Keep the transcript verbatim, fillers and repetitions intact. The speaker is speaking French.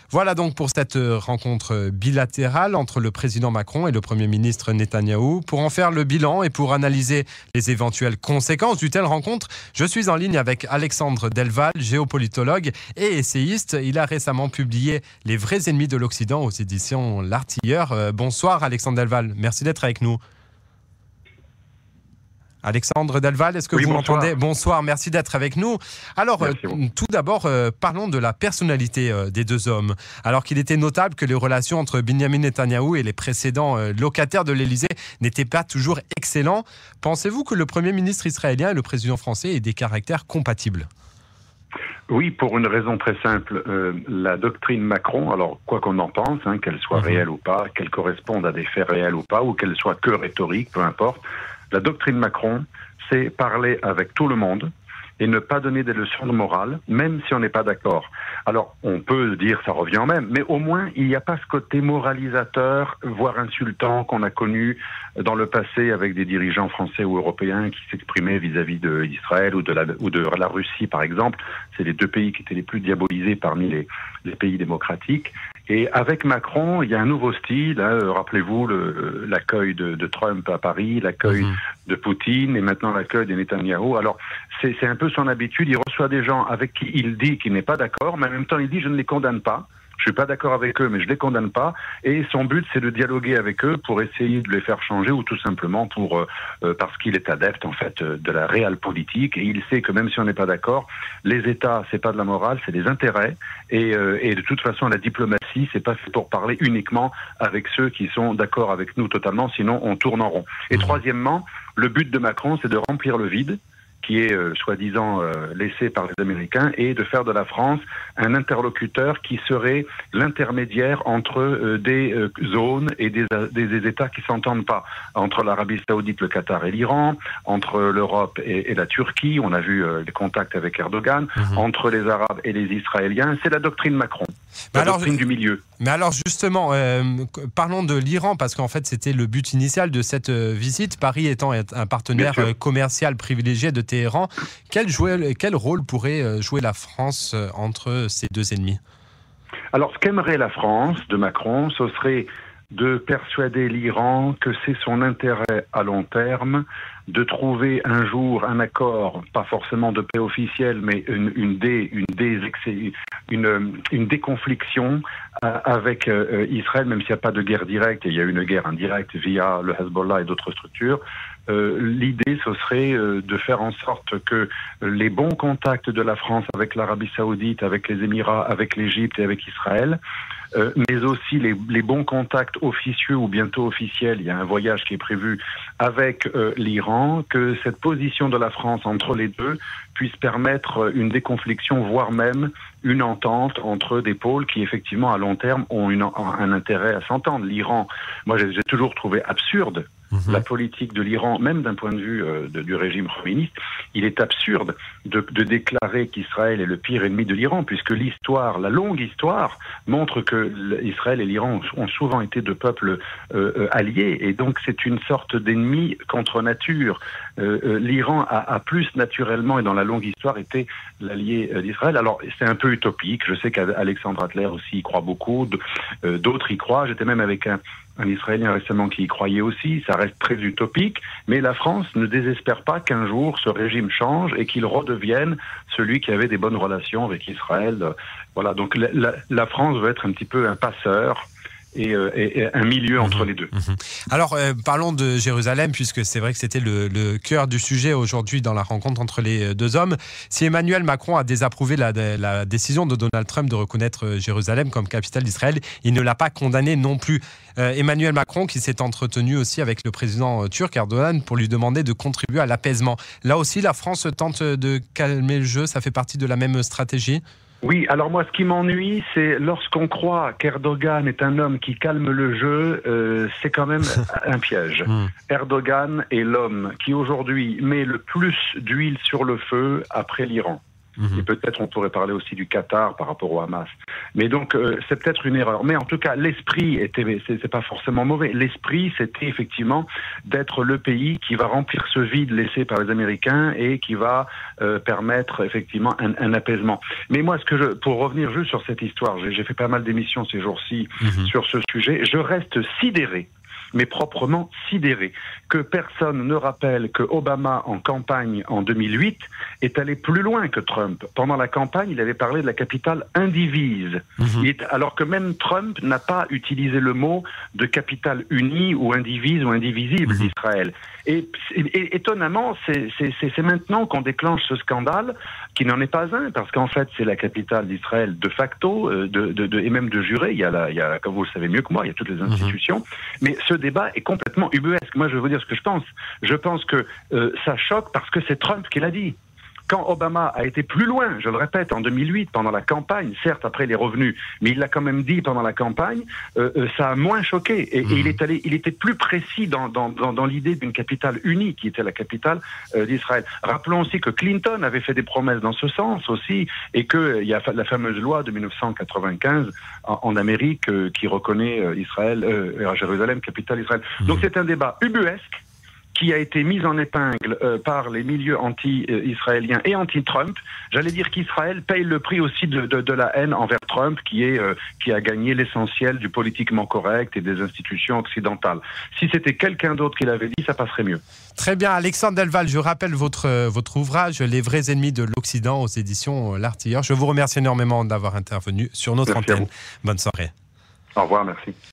Voilà donc pour cette rencontre bilatérale entre le président Macron et le Premier ministre Netanyahou. Pour en faire le bilan et pour analyser les éventuelles conséquences d'une telle rencontre, je suis en ligne avec Alexandre Delval, géopolitologue et essayiste. Il a récemment publié « Les vrais ennemis de l'Occident » aux éditions L'Artilleur. Euh, bonsoir Alexandre Delval, merci d'être avec nous. Alexandre Delval, est-ce que oui, vous bonsoir. m'entendez ? Bonsoir, merci d'être avec nous. Alors, euh, tout d'abord, euh, parlons de la personnalité euh, des deux hommes. Alors qu'il était notable que les relations entre Benjamin Netanyahou et les précédents euh, locataires de l'Élysée n'étaient pas toujours excellents, pensez-vous que le Premier ministre israélien et le président français aient des caractères compatibles ? Oui, pour une raison très simple. Euh, la doctrine Macron, alors quoi qu'on en pense, hein, qu'elle soit mmh. réelle ou pas, qu'elle corresponde à des faits réels ou pas, ou qu'elle soit que rhétorique, peu importe, la doctrine Macron, c'est parler avec tout le monde et ne pas donner des leçons de morale, même si on n'est pas d'accord. Alors, on peut dire ça revient au même, mais au moins, il n'y a pas ce côté moralisateur, voire insultant qu'on a connu dans le passé avec des dirigeants français ou européens qui s'exprimaient vis-à-vis d'Israël ou de la, ou de la Russie, par exemple. C'est les deux pays qui étaient les plus diabolisés parmi les, les pays démocratiques. Et avec Macron, il y a un nouveau style. Hein, rappelez-vous le, l'accueil de, de Trump à Paris, l'accueil mmh. de Poutine et maintenant l'accueil de Netanyahou. Alors, c'est, c'est un peu son habitude. Il reçoit des gens avec qui il dit qu'il n'est pas d'accord, mais en même temps, il dit « je ne les condamne pas ». Je suis pas d'accord avec eux, mais je les condamne pas. Et son but, c'est de dialoguer avec eux pour essayer de les faire changer ou tout simplement pour euh, parce qu'il est adepte en fait de la réelle politique et il sait que même si on n'est pas d'accord, les États, c'est pas de la morale, c'est des intérêts. Et, euh, et de toute façon, la diplomatie, c'est pas fait pour parler uniquement avec ceux qui sont d'accord avec nous totalement, sinon on tourne en rond. Et troisièmement, le but de Macron, c'est de remplir le vide qui est euh, soi-disant euh, laissé par les Américains, et de faire de la France un interlocuteur qui serait l'intermédiaire entre euh, des euh, zones et des, des, des États qui s'entendent pas, entre l'Arabie Saoudite, le Qatar et l'Iran, entre l'Europe et, et la Turquie, on a vu euh, les contacts avec Erdogan, mmh. entre les Arabes et les Israéliens, c'est la doctrine Macron. La alors, doctrine du milieu. Mais alors justement, euh, parlons de l'Iran, parce qu'en fait c'était le but initial de cette euh, visite, Paris étant un partenaire euh, commercial privilégié de Téhéran. Quel, jouer, quel rôle pourrait jouer la France euh, entre ces deux ennemis ? Alors ce qu'aimerait la France de Macron, ce serait de persuader l'Iran que c'est son intérêt à long terme de trouver un jour un accord, pas forcément de paix officielle, mais une, une, dé, une, dé, une, une déconfliction avec euh, Israël, même s'il n'y a pas de guerre directe, et il y a une guerre indirecte via le Hezbollah et d'autres structures. Euh, l'idée, ce serait euh, de faire en sorte que les bons contacts de la France avec l'Arabie Saoudite, avec les Émirats, avec l'Égypte et avec Israël, euh, mais aussi les, les bons contacts officieux ou bientôt officiels, il y a un voyage qui est prévu avec euh, l'Iran, que cette position de la France entre les deux puisse permettre une déconfliction, voire même une entente entre des pôles qui, effectivement, à long terme, ont une, un intérêt à s'entendre. L'Iran, moi, j'ai, j'ai toujours trouvé absurde Mmh. la politique de l'Iran, même d'un point de vue euh, de, du régime communiste. Il est absurde de, de déclarer qu'Israël est le pire ennemi de l'Iran, puisque l'histoire, la longue histoire, montre que Israël et l'Iran ont souvent été deux peuples euh, alliés, et donc c'est une sorte d'ennemi contre nature. Euh, euh, L'Iran a, a plus naturellement, et dans la longue histoire, été l'allié euh, d'Israël. Alors c'est un peu utopique, je sais qu'Alexandre Adler aussi y croit beaucoup, euh, d'autres y croient, j'étais même avec un un Israélien récemment qui y croyait aussi, ça reste très utopique, mais la France ne désespère pas qu'un jour ce régime change et qu'il redevienne celui qui avait des bonnes relations avec Israël. Voilà, donc la, la, la France veut être un petit peu un passeur et, euh, et, et un milieu entre mmh, les deux. Mmh. Alors, euh, parlons de Jérusalem, puisque c'est vrai que c'était le, le cœur du sujet aujourd'hui dans la rencontre entre les deux hommes. Si Emmanuel Macron a désapprouvé la, la décision de Donald Trump de reconnaître Jérusalem comme capitale d'Israël, il ne l'a pas condamné non plus. Euh, Emmanuel Macron qui s'est entretenu aussi avec le président turc Erdogan pour lui demander de contribuer à l'apaisement. Là aussi, la France tente de calmer le jeu, ça fait partie de la même stratégie ? Oui, alors moi, ce qui m'ennuie, c'est lorsqu'on croit qu'Erdogan est un homme qui calme le jeu, euh, c'est quand même un piège. Mm. Erdogan est l'homme qui aujourd'hui met le plus d'huile sur le feu après l'Iran. Mmh. Et peut-être on pourrait parler aussi du Qatar par rapport au Hamas. Mais donc, euh, c'est peut-être une erreur. Mais en tout cas, l'esprit était, c'est, c'est pas forcément mauvais. L'esprit, c'était effectivement d'être le pays qui va remplir ce vide laissé par les Américains et qui va euh, permettre effectivement un, un apaisement. Mais moi, ce que je, pour revenir juste sur cette histoire, j'ai, j'ai fait pas mal d'émissions ces jours-ci mmh. sur ce sujet, je reste sidéré, mais proprement sidéré, que personne ne rappelle que Obama, en campagne en deux mille huit, est allé plus loin que Trump. Pendant la campagne, il avait parlé de la capitale indivise, mmh. il est, alors que même Trump n'a pas utilisé le mot de capitale unie ou indivise ou indivisible mmh. d'Israël. Et, et étonnamment, c'est, c'est, c'est, c'est maintenant qu'on déclenche ce scandale, qui n'en est pas un, parce qu'en fait, c'est la capitale d'Israël de facto, de, de, de, et même de juré. Il y a, la, il y a, comme vous le savez mieux que moi, il y a toutes les institutions. Mmh. Mais ce débat est complètement ubuesque. Moi, je vais vous dire ce que je pense. Je pense que euh, ça choque parce que c'est Trump qui l'a dit. Quand Obama a été plus loin, je le répète, en deux mille huit, pendant la campagne, certes après il est revenu, mais il l'a quand même dit pendant la campagne, euh, euh, ça a moins choqué. Et, mmh. et il, est allé, il était plus précis dans, dans, dans, dans l'idée d'une capitale unie, qui était la capitale euh, d'Israël. Rappelons aussi que Clinton avait fait des promesses dans ce sens aussi, et qu'il euh, y a la fameuse loi de dix-neuf cent quatre-vingt-quinze en, en Amérique euh, qui reconnaît euh, Israël, euh, Jérusalem, capitale d'Israël. Mmh. Donc c'est un débat ubuesque, qui a été mise en épingle euh, par les milieux anti-israéliens et anti-Trump. J'allais dire qu'Israël paye le prix aussi de, de, de la haine envers Trump, qui, est, euh, qui a gagné l'essentiel du politiquement correct et des institutions occidentales. Si c'était quelqu'un d'autre qui l'avait dit, ça passerait mieux. Très bien, Alexandre Delval, je rappelle votre, votre ouvrage « Les vrais ennemis de l'Occident » aux éditions L'Artilleur. Je vous remercie énormément d'avoir intervenu sur notre Merci antenne. Bonne soirée. Au revoir, merci.